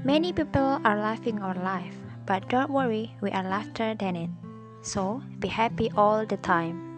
Many people are laughing our life, but don't worry, we are laughter than it. So be happy all the time.